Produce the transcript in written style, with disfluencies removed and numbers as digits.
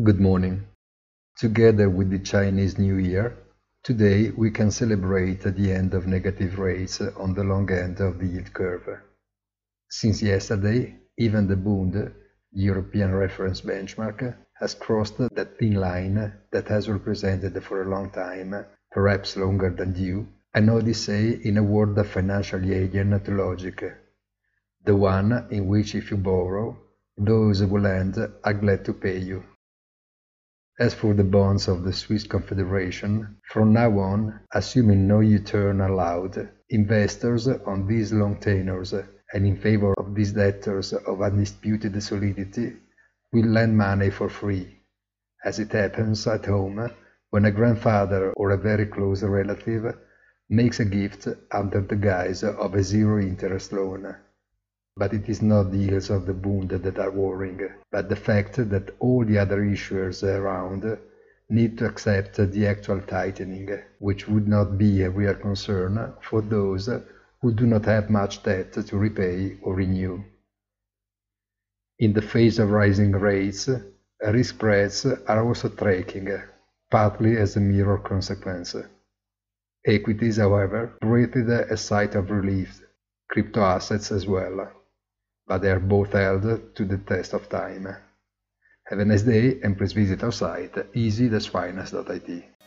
Good morning. Together with the Chinese New Year, today we can celebrate the end of negative rates on the long end of the yield curve. Since yesterday, even the Bund, the European reference benchmark, has crossed that thin line that has represented for a long time, perhaps longer than due, an odyssey in a world of financially alien to logic, the one in which if you borrow, those who lend are glad to pay you. As for the bonds of the Swiss Confederation, from now on, assuming no U-turn allowed, investors on these long tenors and in favor of these debtors of undisputed solidity will lend money for free, as it happens at home when a grandfather or a very close relative makes a gift under the guise of a zero-interest loan. But it is not the yields of the Bund that are worrying, but the fact that all the other issuers around need to accept the actual tightening, which would not be a real concern for those who do not have much debt to repay or renew. In the face of rising rates, risk spreads are also tracking, partly as a mirror consequence. Equities, however, breathed a sigh of relief, crypto assets as well, but they are both held to the test of time. Have a nice day and please visit our site easy-finance.it.